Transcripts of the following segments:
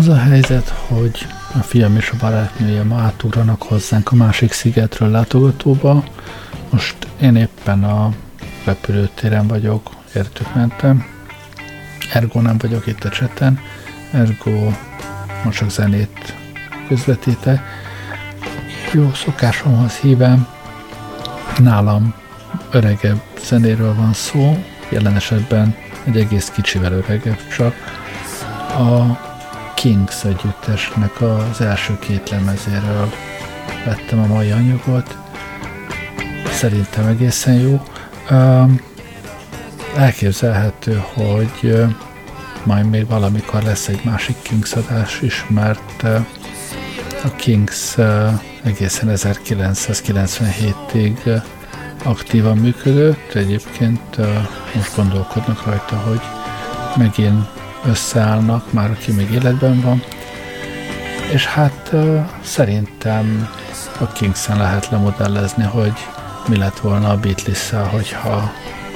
Az a helyzet, hogy a fiam és a barátnője ma átugranak hozzánk a másik szigetről látogatóba. Most én éppen a repülőtéren vagyok, értük mentem. Ergo nem vagyok itt a cseten, ergo most csak zenét közvetítek. Jó szokásomhoz hívem, nálam öregebb zenéről van szó, jelen esetben egy egész kicsivel öregebb csak. A Kings együttesnek az első két lemezéről vettem a mai anyagot. Szerintem egészen jó. Elképzelhető, hogy majd még valamikor lesz egy másik Kings adás is, mert a Kings egészen 1997-ig aktívan működött. Egyébként most gondolkodnak rajta, hogy megint összeállnak, már aki még életben van. És hát szerintem a Kingsen lehet lemodellezni, hogy mi lett volna a Beatles-szel, hogyha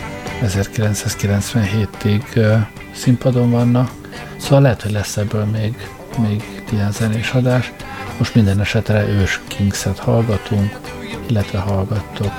1997-ig színpadon vannak. Szóval lehet, hogy lesz ebből még ilyen zenés adás. Most minden esetre ős Kingset hallgatunk, illetve hallgattok.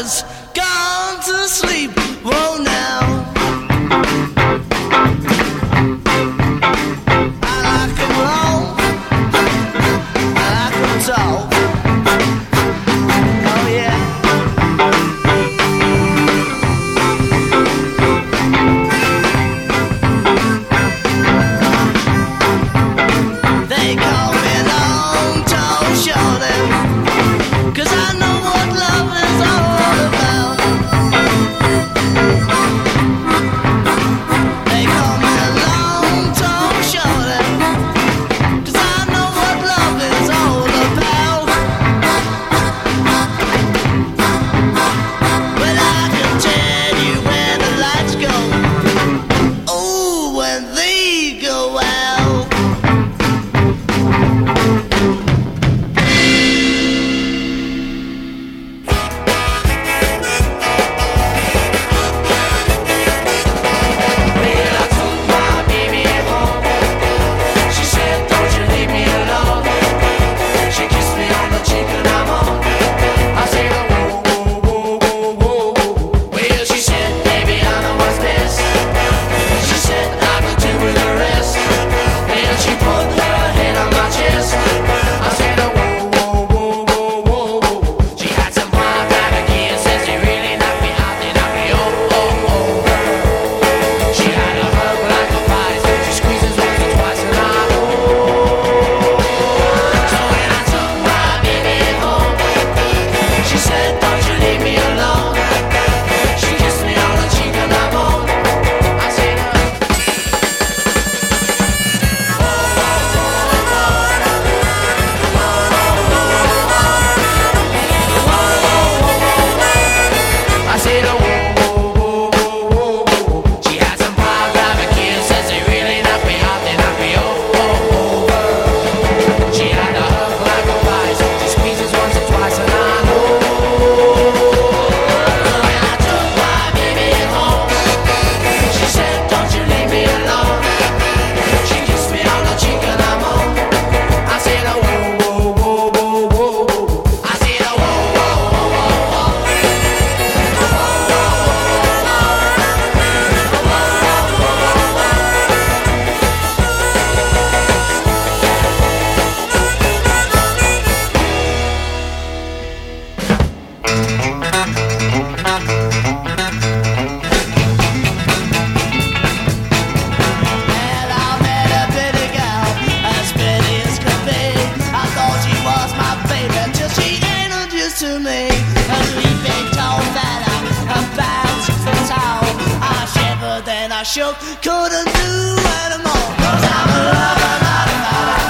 has gone to sleep. Whoa now. I like 'em long, I like 'em tall. Oh yeah. They call me long, tall, short, 'cause I know what love is all about. They call me long, tall, short, 'cause I know what love is all about. Well, I can tell you where the lights go. Oh, when they go out. Well, I took my baby home. She said, "Don't you leave me alone." She kissed me on the cheek and I'm on. I said, "Whoa, whoa, whoa, whoa, whoa, whoa." Well, she said, "Baby, I know what's best." She said, "I could do with the rest." Then she put her head on my chest. I said, "Whoa, whoa, whoa, whoa, whoa, whoa." She had some fine private kids, said she really knocked me out, they knocked me oh, oh, oh. She had a hug like a vice. She squeezes once or twice and I'm so when I took my baby home, she said, "Don't you leave me alone." She kissed me on the cheek and I'm on. I said, I said, "Oh, whoa, whoa, whoa, whoa, whoa." She had some fine private kids, says they really knocked me out, they knocked me over. She had a hug like a vice. She squeezes once or twice and I know. When I took my baby home, she said, "Don't you leave me alone." She kissed me on the cheek and I'm on. I said, "Oh, whoa, whoa, whoa, whoa, whoa." I said, "Oh, whoa, whoa, whoa, whoa, whoa." Well, I met a pretty girl, as pretty as could be. I thought she was my favorite till she introduced to me a leaping tall fella, a pound 6 foot tall. I shivered and I shook, couldn't do anymore. 'Cause I'm a lover, not a fighter.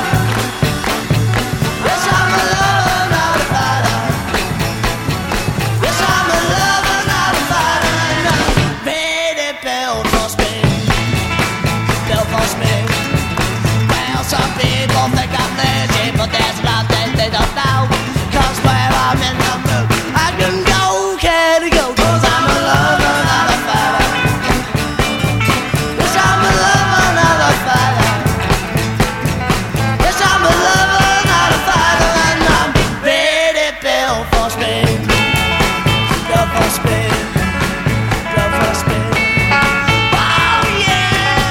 Yes, I'm a lover, not a fighter. Yes, I'm a lover, not a fighter. And I'm ready, Bill for speed. Bill for speed. Well, some people think I'm lazy, but there's a lot that they don't know. 'Cause when I'm in the mood, I can go, can go. 'Cause I'm a lover, not a fighter. Yes, I'm a lover, not a fighter. Yes, I'm a lover, not a fighter. And I'm ready, Bill for speed. Bill for speed. Bill for speed. Oh, yeah.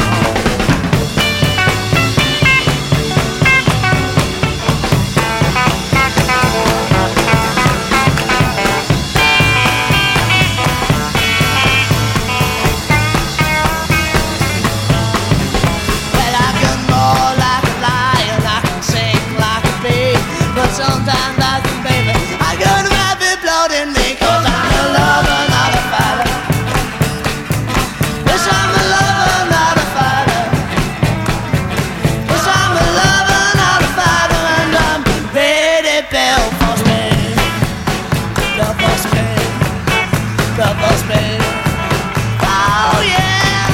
Well, I can roar like a lion, I can sing like a bee, but sometimes I think, baby, I got rabbit blood in me. 'Cause I'm a lover, not a fighter. Yes, I'm a lover, not a fighter. Yes, I'm a lover, not a fighter. And I'm ready, Bill for speed. Bill for speed. Bill for speed. Oh, yeah.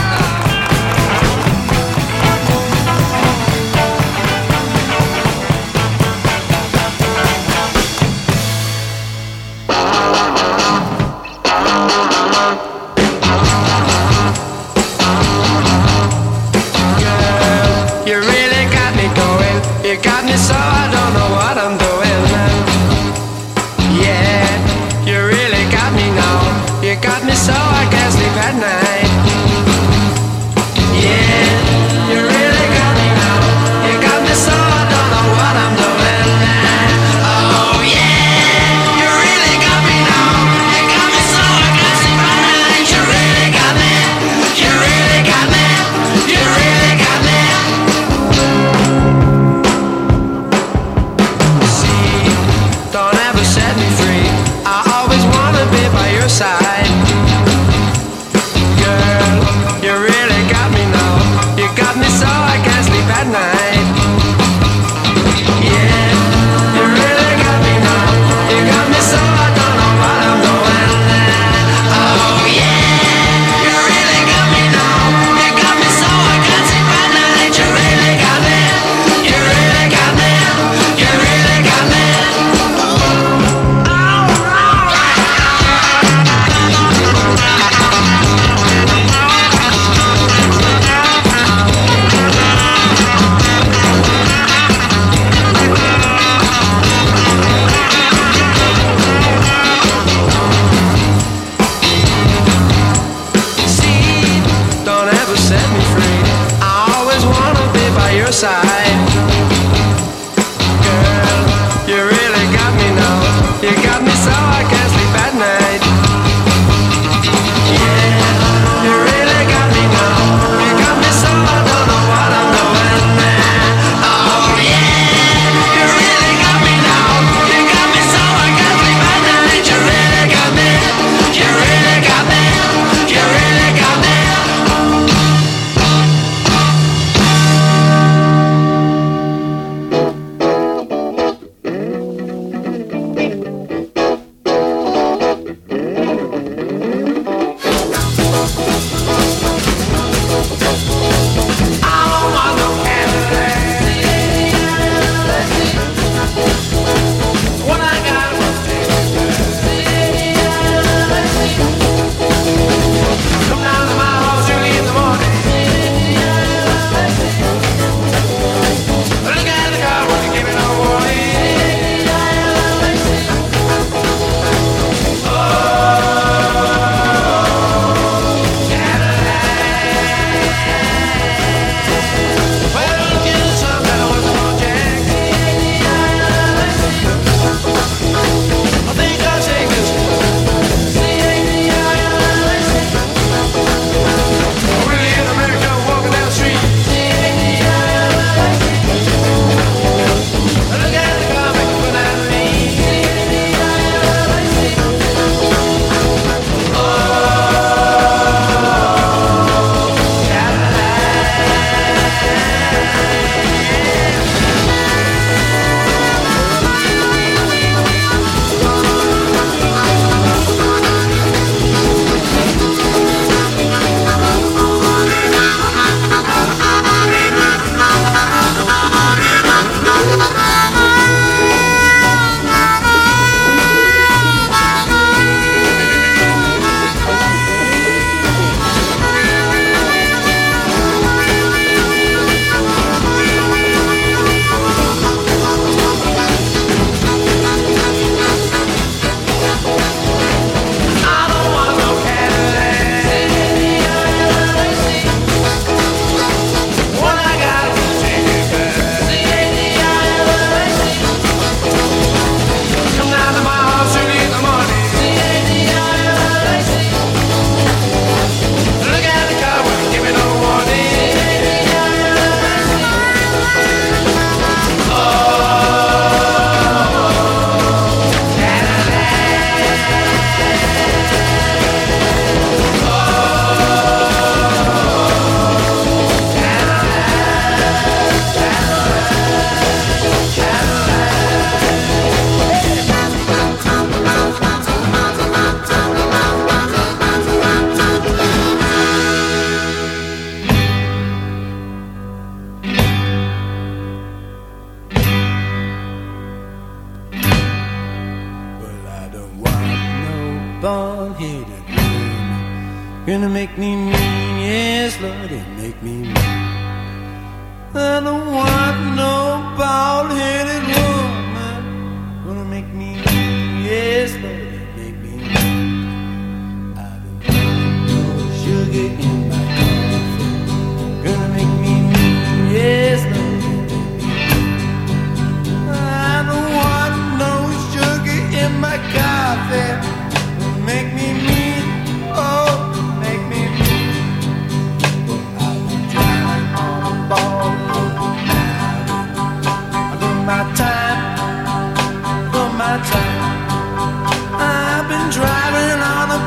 You really got me going. You got me so I don't know what I'm doing. Yeah, you really got your side. Girl, you really got me now. You got me so I can't sleep at night. Yeah, you really got me now. You got me so I don't know what I'm doing. Oh yeah, you really got me now. You got me so I can't sleep at night. You really got me. You really got me. You really got me. Side. Girl, you really got me now. You got me so I can't sleep at night. Yeah, you really got me now. You got me so I don't know what I'm doing. Oh yeah, you really got me now. You got me so I can't sleep at night. You really got me. You really got me. You really got me. bald-headed woman. Gonna make me mean, yes, Lord, it make me mean. I don't want no bald-headed woman. Gonna make me mean, yes, Lord, it make me mean. I don't want no sugar in my coffee. Gonna make me mean, yes, Lord, it make me mean. I don't want no sugar in my coffee. Make me mean, oh, make me mean. But I've been driving on a ball for my time, for my time. I've been driving on a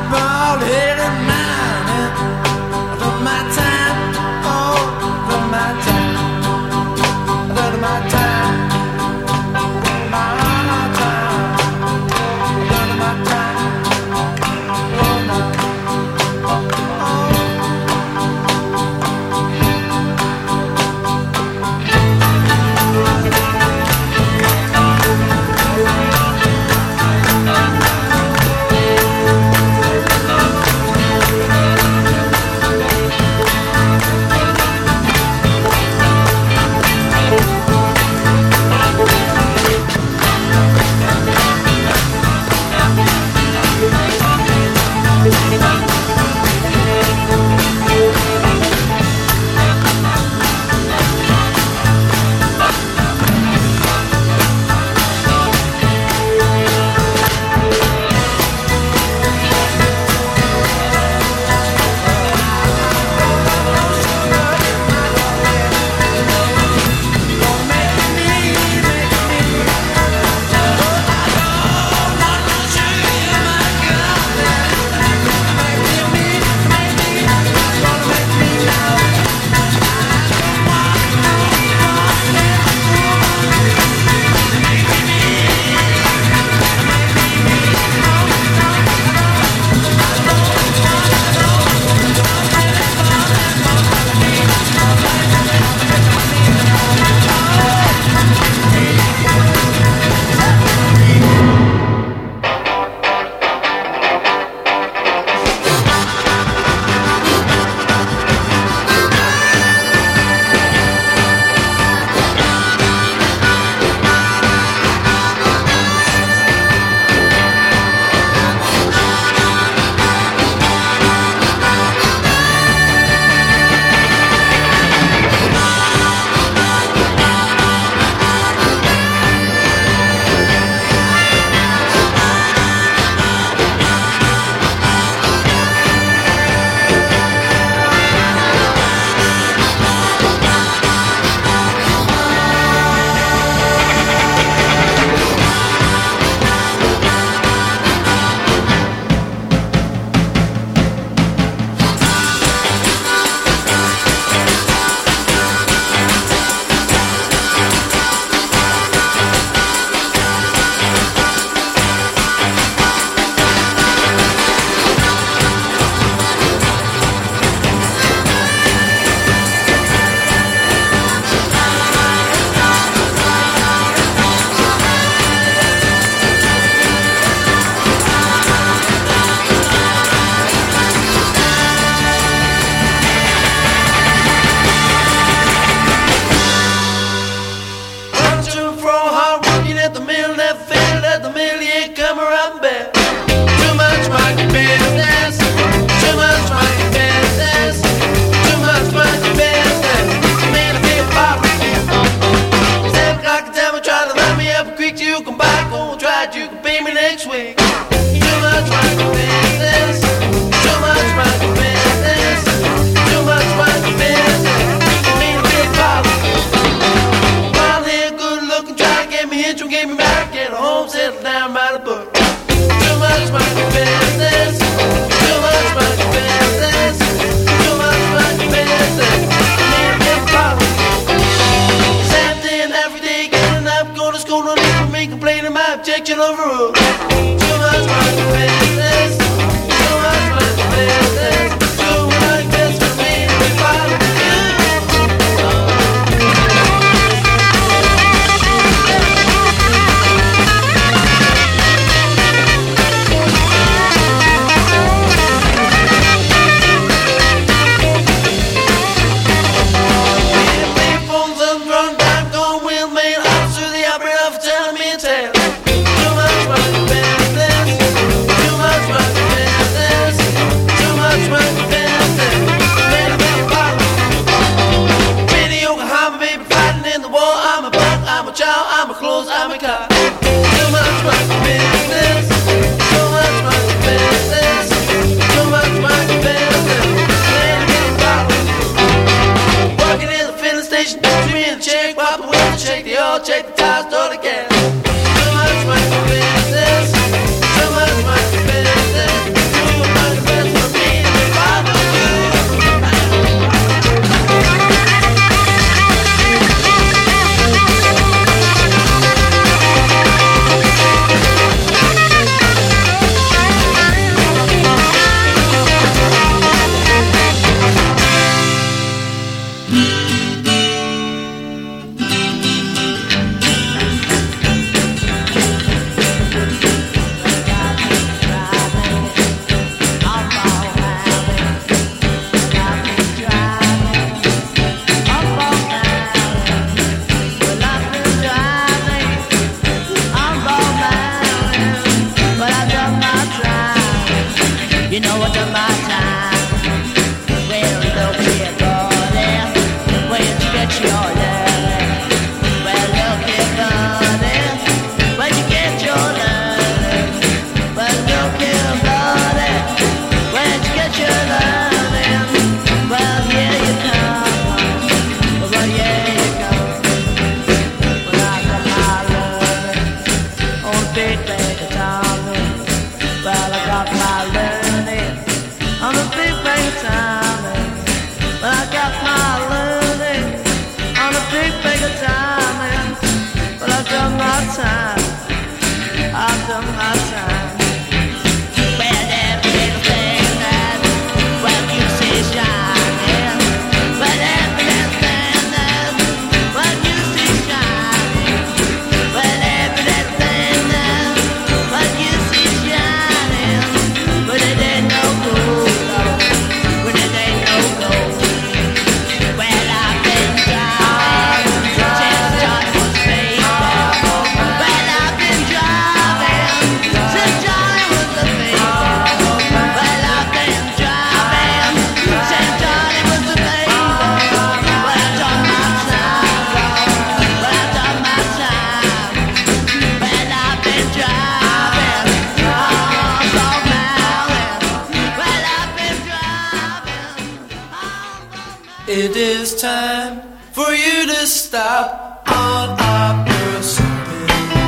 You know what the my time. Well, look here, buddy, where you get your love? Well, look here, buddy, where you get your love? Well, look here, buddy, where you get your love? Well, here you come. Well, here you come. Well, I got my love on big bag of diamonds. Well, I got my learning on a big bag of diamonds. Well, I got my learning on a big bag of diamonds. Well, I've done my time. I've done my time. Well, every little thing that, well, you see shining. Well, every little thing that, well, you see shining. Well, every little thing that, well, you see shining. But it ain't no gold, but it ain't no gold. Well, I've been driving since Johnny was baby. Well, I've been driving since Johnny was a baby. Well, I've been driving since Johnny was a baby. Well, I've done my time. Well, I've done my time. Well, I've been driving all South Mountain. Well, I've been driving all It is time for you to stop all of your sobbing.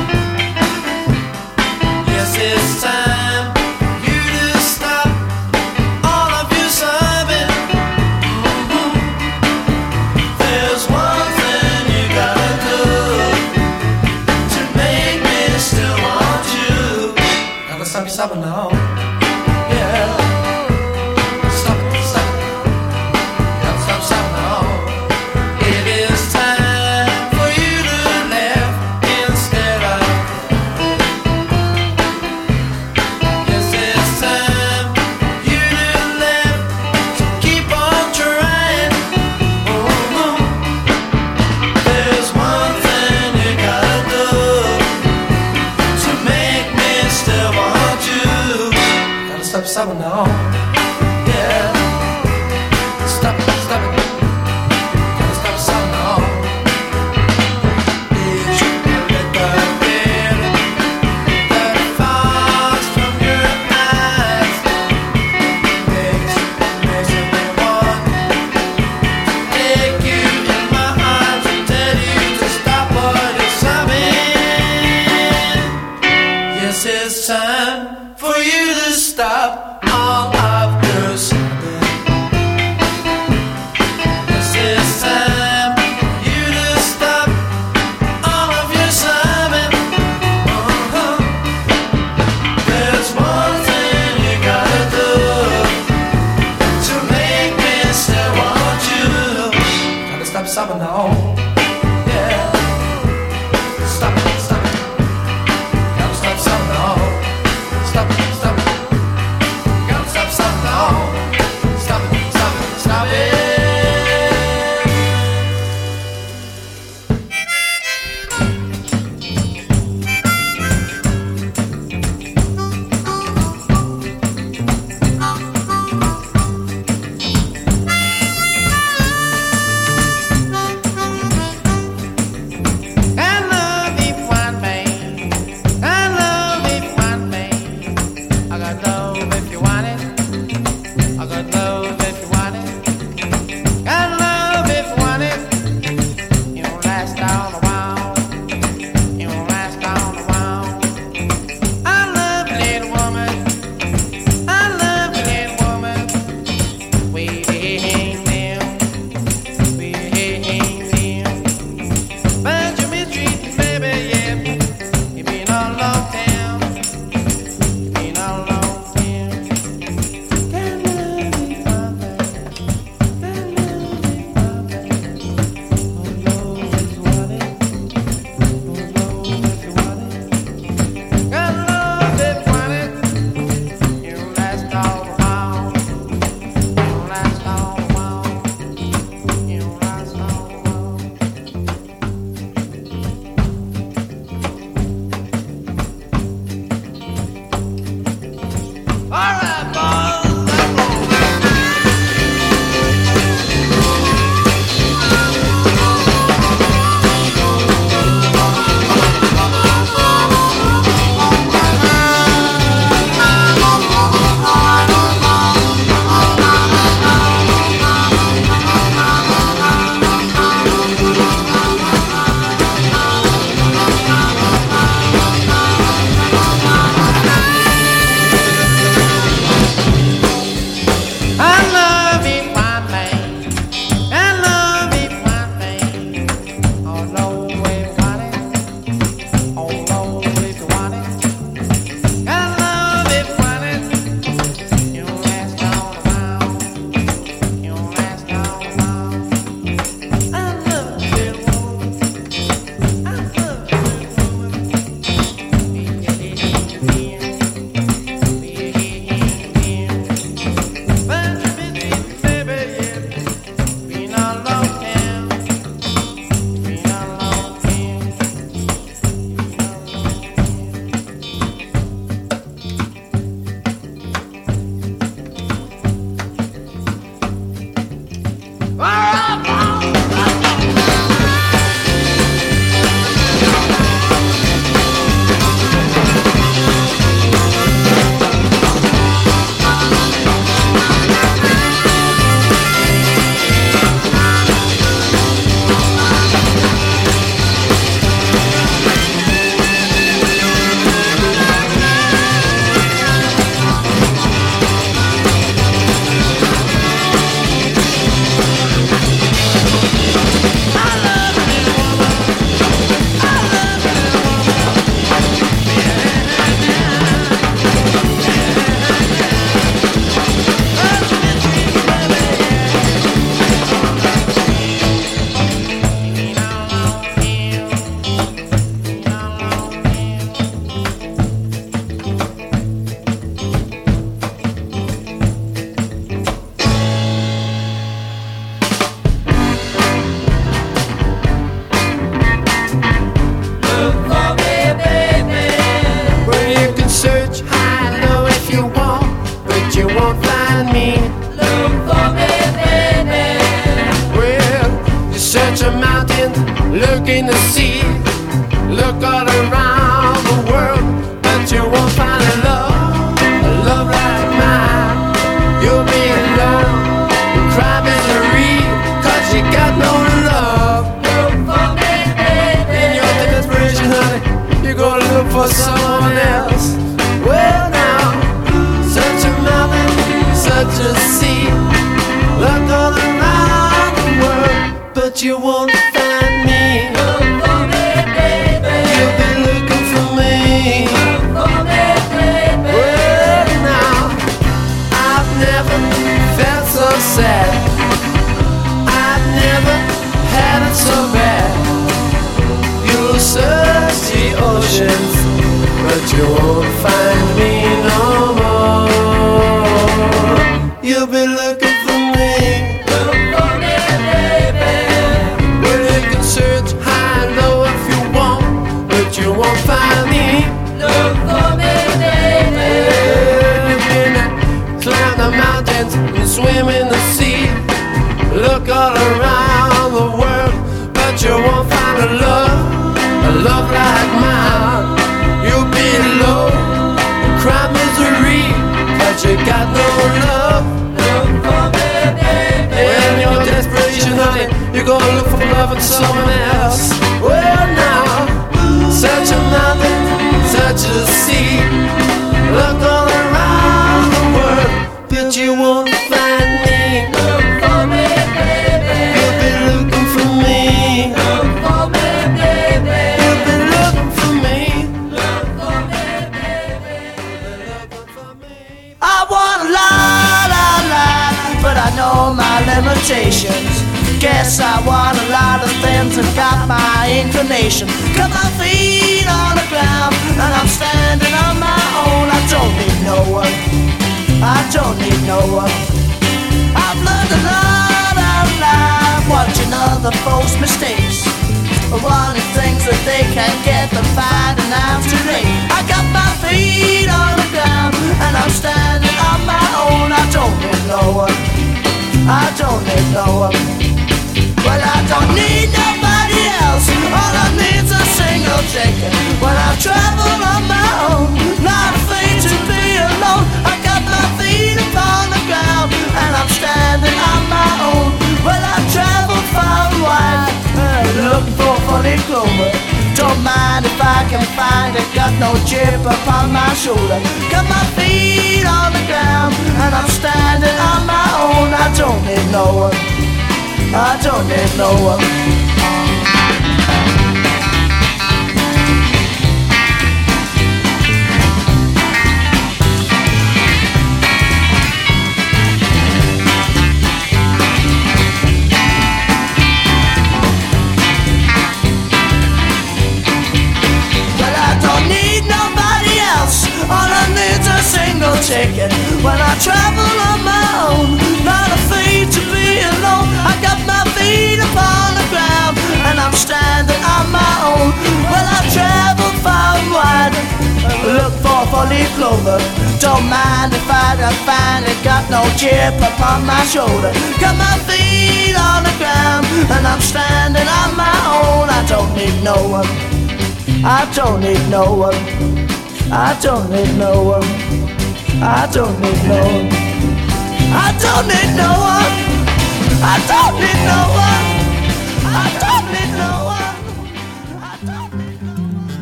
Yes, it's time for you to stop all of your sobbing. There's one thing you gotta do to make me still want you. Gotta stop your sobbing now. Yeah. Stop it, stop it. Gotta stop sobbing now. It is time for you to laugh instead of. Yes, it's time for you to laugh. So keep on trying. There's one thing you gotta do to make me still want you. Gotta stop sobbing now. Yeah. Stop it, stop it. Gotta stop sobbing now. Did you let the rain that falls from your eyes makes me want to take you in my arms and tell you to stop all your sobbing? Yes, it's time for you to stop all of your sobbing. Yes, it's time for you to stop all of your sobbing. There's one thing you gotta do to make me still want you. Gotta stop sobbing now. Yeah. Stop it, stop it. Gotta stop sobbing now. Stop it, stop it. Gotta stop sobbing now. Stop it, stop it, stop it. I love if one man. I love if one man. I got love if you want it. I got love if you want it. Got love if you want it. You won't last all a while. You won't last all a while. I love you, little woman. I love you, little woman. Waiting there. Waiting there. But you mistreating, baby, yeah. You been all long time. You been all long time. but you won't find me. Look for me, baby. Well, you search a mountain, look in the sea, look all around the world, but you won't find a love like mine. You'll be alone, cry misery, 'cause you got no love. Look for me, baby. In your desperation, honey, you're gonna look for someone else. Well now, such a mountain, such a sea, look all around the world, but you won't find me. Look for me, baby. You'll be looking for me. Look for me, baby. Well now, I've never felt so sad, I've never had it so bad. You'll search the oceans, but you won't find me no more. You'll be looking for me. Look for me, baby. Well, you can search high and low if you want, but you won't find me. Look for me, baby. You can climb the mountains and swim in the sea, look all around the world, but you won't find a love like mine. You'll be low, cry misery, but you got no love. Look for me, baby. Well, in your desperation, honey, you're gonna look for love in someone else. Well now, such a mountain, such a sea, look all around the world, but you won't find me. Look for me, baby. You'll be looking for me. Look for me, baby. You'll be looking for me. Look for me, baby. Looking for me. I want a lot, but I know my limitations. Guess I want a lot of things and got my inclination. Got my feet on the ground and I'm standing on my own. I don't need no one. I don't need no one. I've learned a lot of life watching other folks' mistakes. Wanting things that they can't get and finding out too late. I got my feet on the ground and I'm standing on my own. I don't need no one. I don't need no one. Well, I don't need nobody else. All I need's a single ticket. When I travel on my own, not afraid to be alone. I got my feet upon the ground and I'm standing on my own. Well, I traveled far and wide, looking for funny clover. Don't mind if I can find it. Got no chip upon my shoulder. Got my feet on the ground and I'm standing on my own. I don't need no one. I don't need no one. Well, I don't need nobody else. All I need's a single ticket. When I travel on my own, not afraid to be alone. I got my feet upon the ground and I'm standing on my own. Well, I traveled far and wide, look for four-leaf clover. Don't mind if I don't find it. Got no chip upon my shoulder. Got my feet on the ground and I'm standing on my own. I don't need no one. I don't need no one. I don't need no one. I don't need no one. I don't need no one. I don't need no one. I don't need no one. I don't need no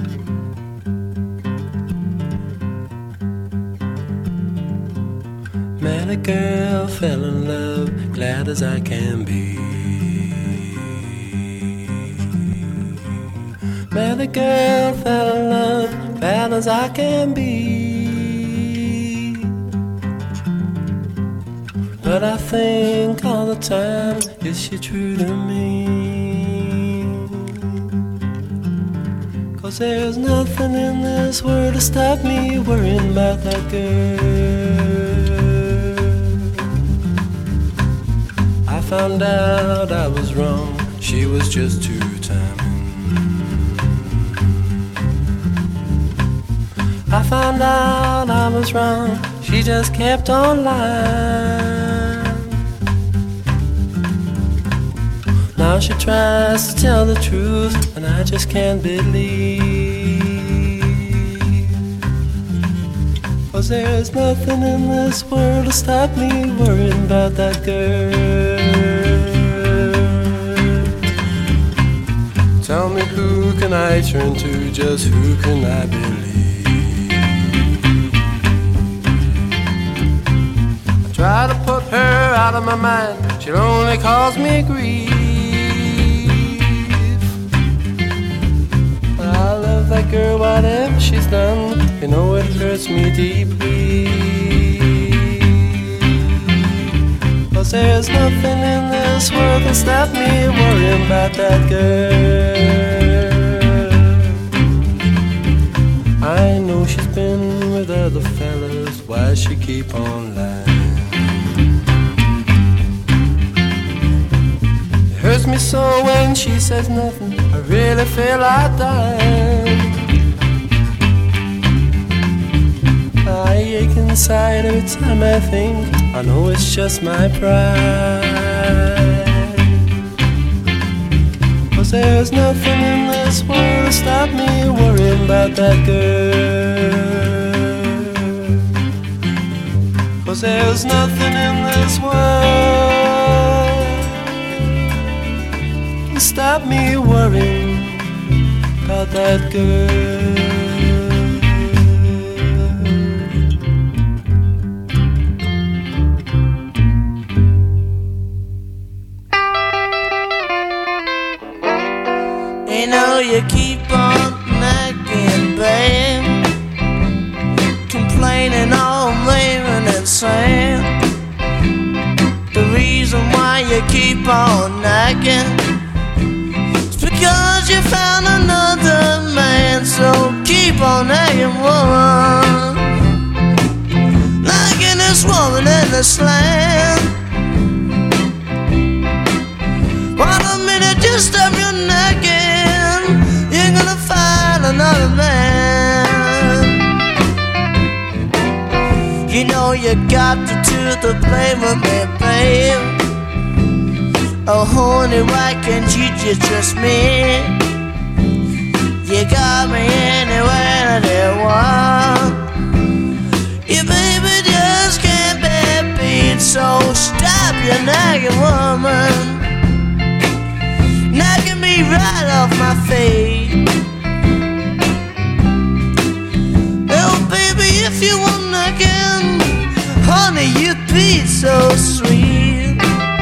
one. Met a girl, fell in love, glad as I can be. Met a girl, fell in love, glad as I can be. But I think all the time, is she true to me? 'Cause there's nothing in this world to stop me worrying about that girl. I found out I was wrong, she was just too timing. I found out I was wrong, she just kept on lying. Now she tries to tell the truth, and I just can't believe. 'Cause there's nothing in this world to stop me worrying about that girl. Tell me, who can I turn to? Just who can I believe? I try to put her out of my mind, she'll only cause me grief. But I love that girl, whatever she's done, you know it hurts me deeply. 'Cause there's nothing in this world that stop me worrying about that girl. I know she's been with other fellas, why she keep on lying? It hurts me so when she says nothing, I really feel like dying. I ache inside every time I think, I know it's just my pride. 'Cause there's nothing in this world to stop me worrying about that girl. 'Cause there's nothing in this world to stop me worrying about that girl. You know you keep on nagging, babe, complaining all raving and saying the reason why you keep on nagging is because you found another man. So keep on nagging, woman, nagging this woman in this land. Why a minute, just stop your nagging, you're gonna find another man. You know you got to do the blame with me, babe. Oh honey, why can't you just trust me? You got me anywhere that you want. You baby just can't be beat, so stop your nagging, woman, nagging me right off my feet. Oh baby, if you want nagging, honey, you'd be so sweet.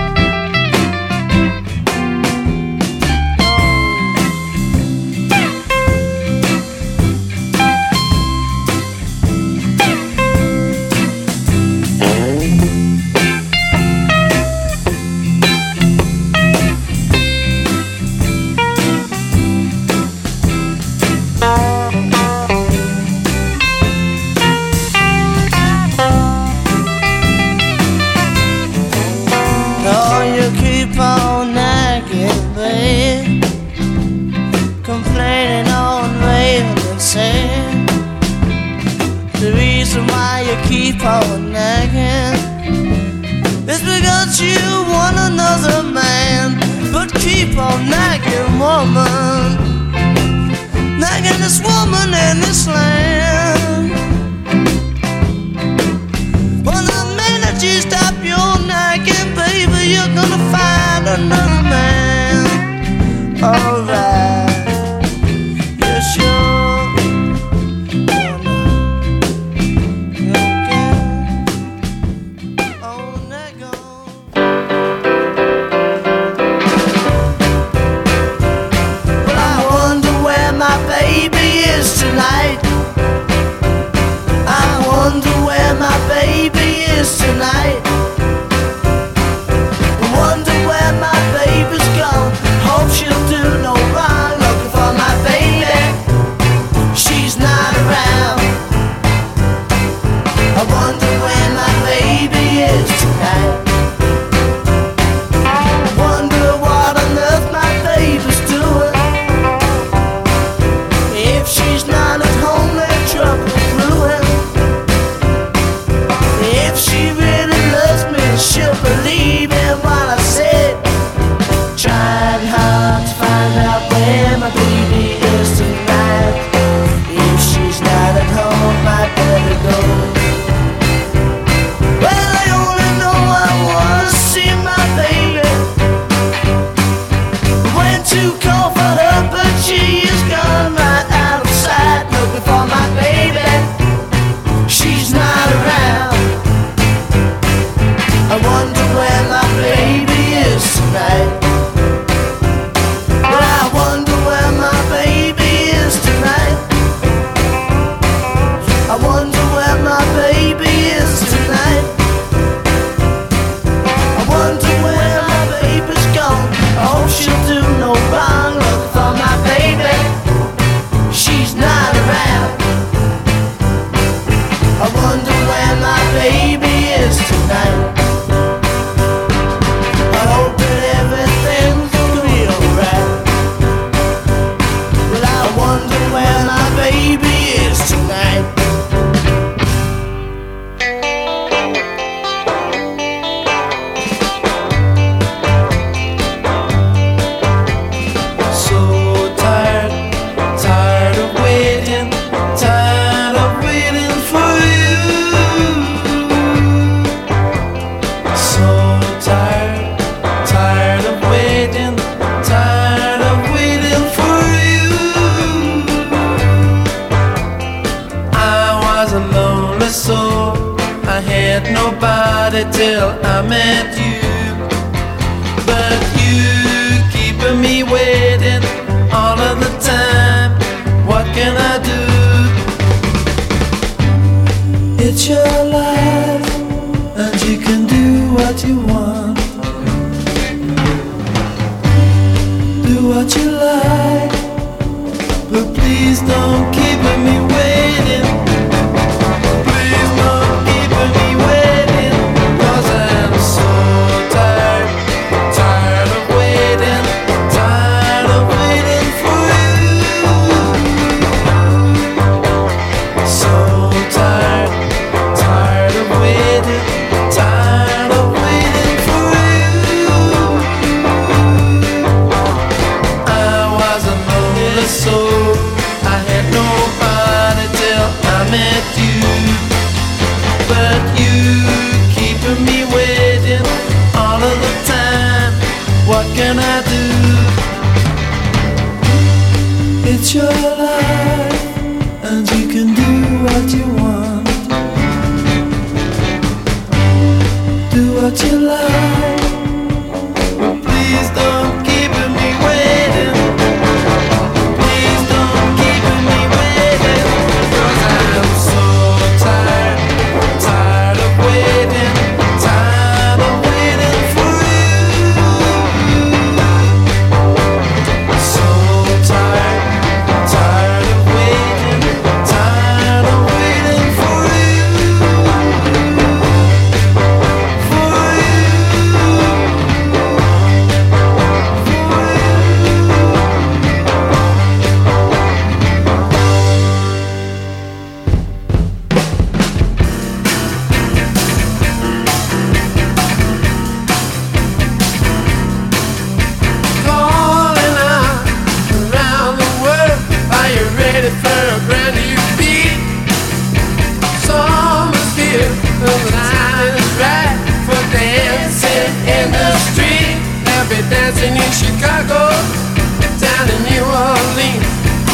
Keep on nagging, it's because you want another man. But keep on nagging, woman, nagging this woman in this land. But the minute you stop your nagging, baby, you're gonna find another man. Alright, yeah, sure. Tonight, I wonder where my baby is tonight. I wonder where my baby's gone. Hope she'll do no nobody till I met you. But you keeping me waiting all of the time. What can I do? It's your life, and you can do what you want. Do what you like, but please don't keep me waiting. Please don't keep me waiting, 'cause I'm so tired, tired of waiting, tired of waiting for you. So tired, tired of waiting, tired of waiting for you. I was a lonely soul, I had nobody till I met you. But you keeping me waiting all of the time. What can I do? It's your life, and you can do what you want. Do what you like, but please don't keep me waiting. Please don't keep me waiting, 'cause I'm so tired, tired of waiting, tired of waiting for you. So tired, tired of waiting, tired of waiting for you. For you. Calling out around the world, are you ready for a brand new beat? Summer's here, the time is right for dancing in the street. They'll be dancing in Chicago, down in New Orleans,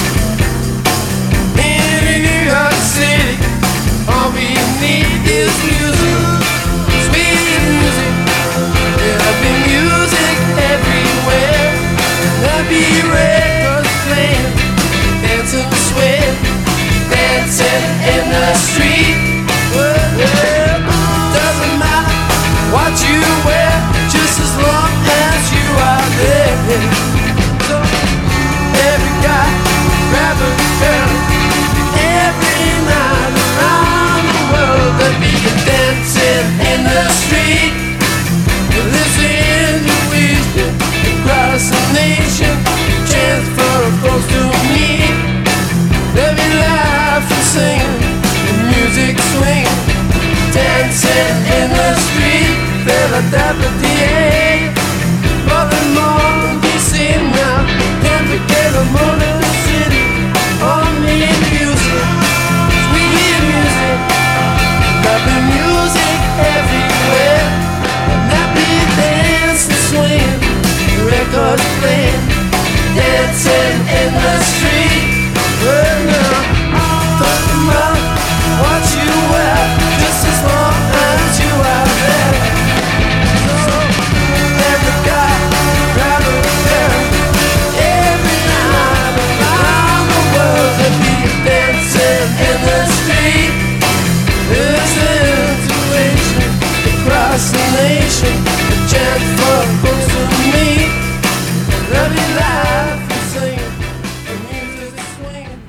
in New York City. All we need is music, sweet music. There'll be music everywhere. There'll be records playing, dancing, sweat, dancing in the street. Well, doesn't matter what you wear, just as long as you are there. So every guy grab a girl, every night around the world there'll be a dancing in the street. Listen to wisdom across the nation, chance for a folks to meet. They'll be laughing, singing, and music swinging, dancing in the street. Philadelphia, Baltimore, DC now, can't forget the Motor City. All need music, sweet music, got the music everywhere. Happy dancing, swinging, records playing, dancing in the street. Well, now, talking about what you wear, just as long as you are there. So, every guy, grab a pair, every night around the world, they'll be dancing in the street. There's an intuition across the nation, a chance for folks to meet. They'll be laughing, singing, the music swinging.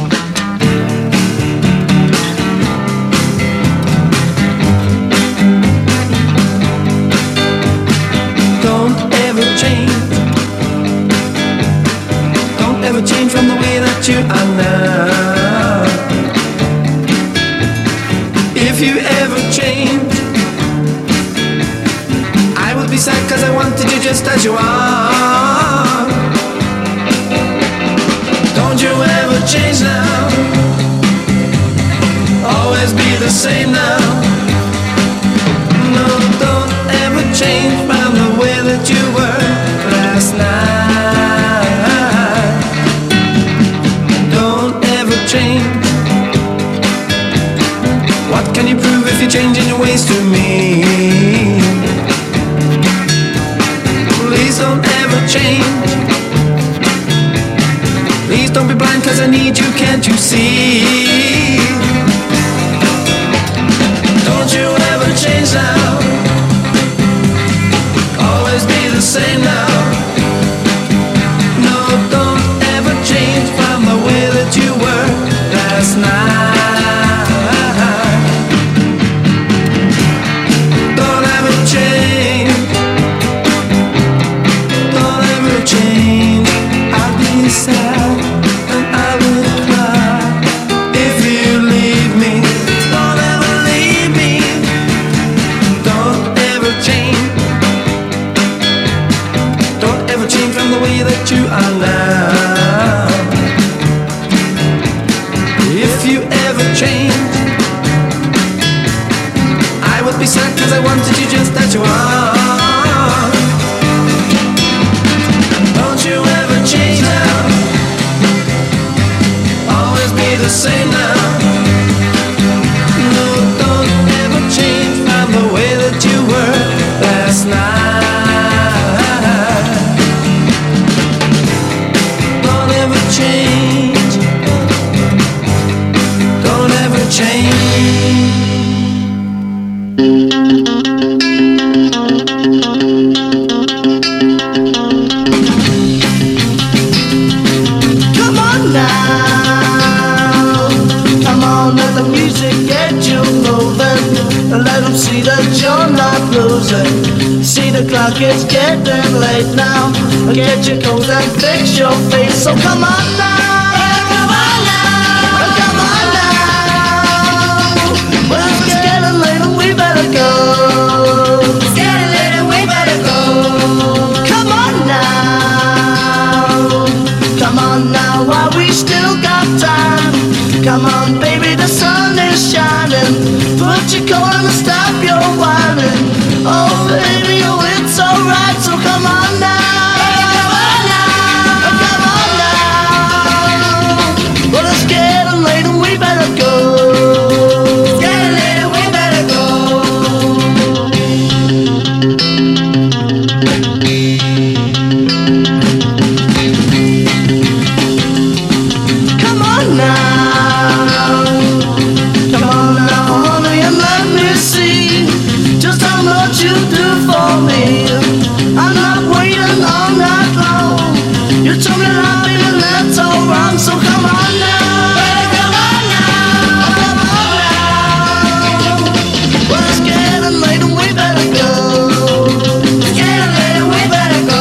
Don't ever change. Don't ever change from the way that you are now. If you ever change, I would be sad, 'cause I wanted you just as you are. Don't you ever change now. Always be the same now. No, don't ever change from the way that you were last night. Don't ever change. What can you prove if you're changing your ways to me? need you, can't you see? Don't you ever change now, always be the same now. No, don't ever change from the way that you were last night. Don't ever change, don't ever change. I'll be sad and I will cry if you leave me. Don't ever leave me. Don't ever change. Don't ever change from the way that you are now. If you ever change, I would be sad, cause I wanted you just as you are. Don't you ever change now, always be the same now. No, don't ever change from the way that you were last night. Don't ever change, don't ever change. Come on now, come on, let the music get you moving. Let them see that you're not losing. See the clock is getting late now. Get your coat and fix your face. So come on now, come on now, come on now. Well, it's getting late and we better go. It's getting late and we better go. Come on now, come on now, while we still got time. Come on, baby, the sun is shining. Put your coat on and stop your whining. Oh, baby, oh, it's alright, so come on now. Come on now, come on now. Well, it's getting late and we better go. It's getting late and we better go. Come on now, come on now, honey, and let me see just how much you do for me. I'm not waiting all night long. You told me that I've been, that's all wrong. So come on now, come on now, come on now. Well, it's getting late and we better go. It's getting late and we better go.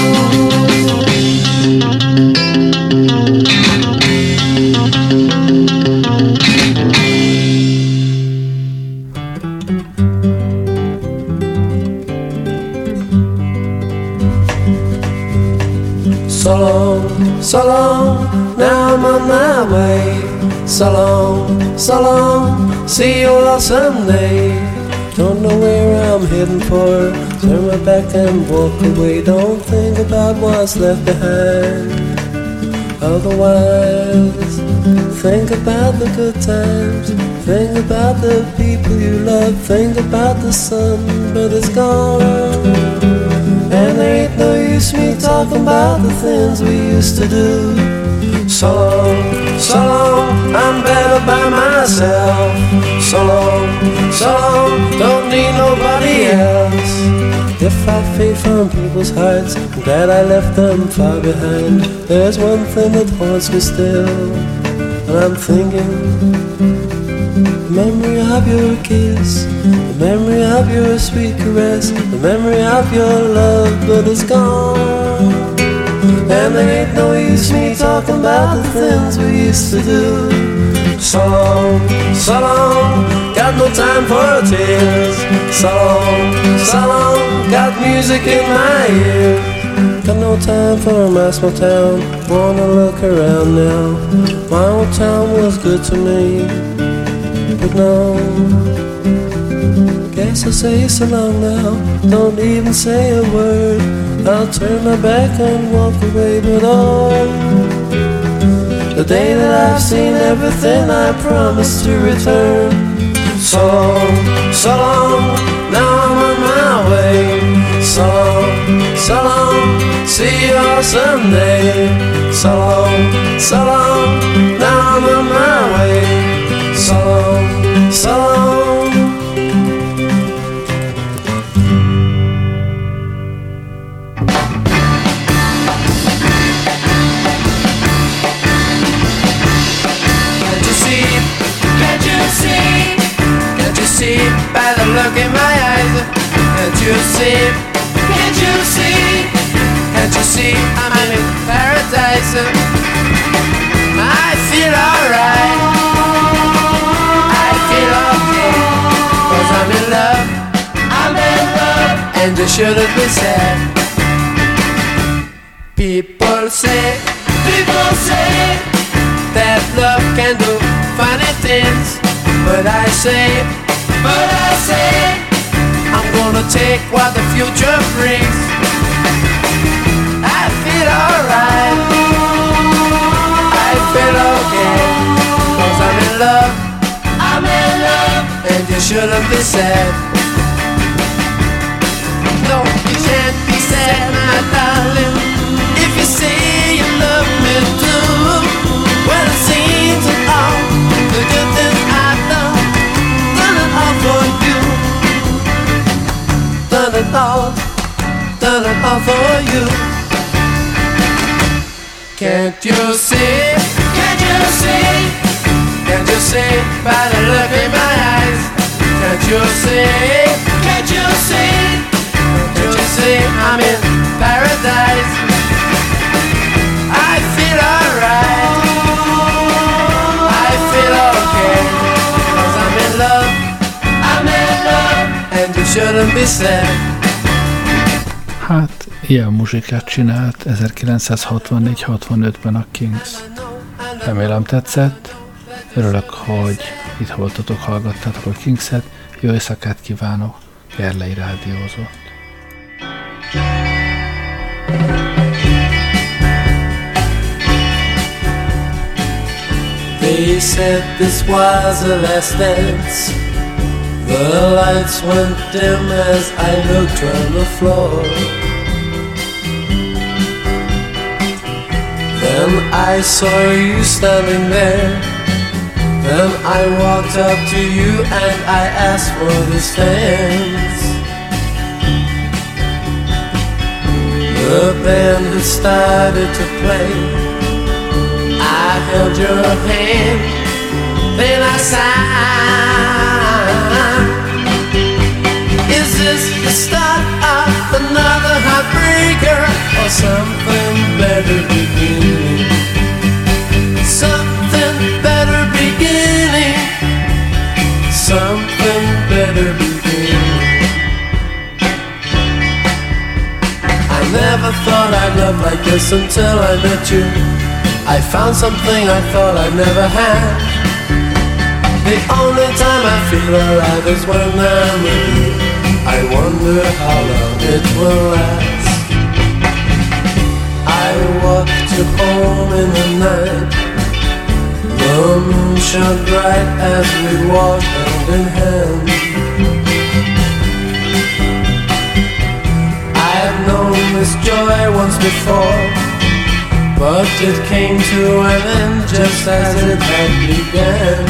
So long, so long, now I'm on my way. So long, see you all someday. Don't know where I'm heading for, turn my back and walk away. Don't think about what's left behind, otherwise think about the good times. Think about the people you love, think about the sun, but it's gone. And there ain't no use me talking about the things we used to do. So long, I'm better by myself. So long, don't need nobody else. If I fade from people's hearts, I'm glad I left them far behind. There's one thing that haunts me still, and I'm thinking, the memory of your kiss, the memory of your sweet caress, the memory of your love, but it's gone. And there ain't no use me talking about the things we used to do. So long, got no time for tears. So long, got music in my ears. Got no time for my small town, wanna look around now. My old town was good to me, but no, guess I'll say so long now. Don't even say a word, I'll turn my back and walk away. But oh, the day that I've seen everything I promised to return. So long, now I'm on my way. So long, see you all someday. So long, you see? Can't you see? Can't you see I'm in paradise? I feel alright. I feel okay. 'Cause I'm in love. I'm in love. And you shouldn't be sad. People say that love can do funny things. But I say, I'm gonna take what the future brings. I feel alright. I feel okay. 'Cause I'm in love. And you shouldn't be sad. No, you can't be sad, my darling, if you say you love me too. Well, it seems that all the good things I've done it all for you. Done it all for you. Can't you see? Can't you see? Can't you see by the look in my eyes? Can't you see? Can't you see? Can't you see I'm in paradise? I feel alright. I feel okay. 'Cause I'm in love. And you shouldn't be sad. Hát, ilyen muzsikát csinált 1964-65-ben a Kings. Remélem tetszett. Örülök, hogy itt voltatok, hallgattátok a Kingset. Jó éjszakát kívánok, Gerlei rádiózott. They said this was the last dance. The lights went dim as I looked on the floor. Then I saw you standing there. Then I walked up to you and I asked for this dance. The band had started to play. I held your hand, then I sighed. Is this the start of another heartbreaker or something better beginning? Something better beginning. Something better beginning. I never thought I'd love like this until I met you. I found something I thought I'd never had. The only time I feel alive is when I'm with you. I wonder how long it will last. I walked you home in the night. The moon shone bright as we walked hand in hand. I've known this joy once before, but it came to an end just as it had begun.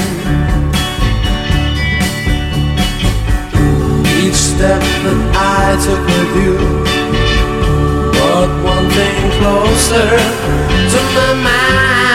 Each step that I took with you brought one thing closer to my mind.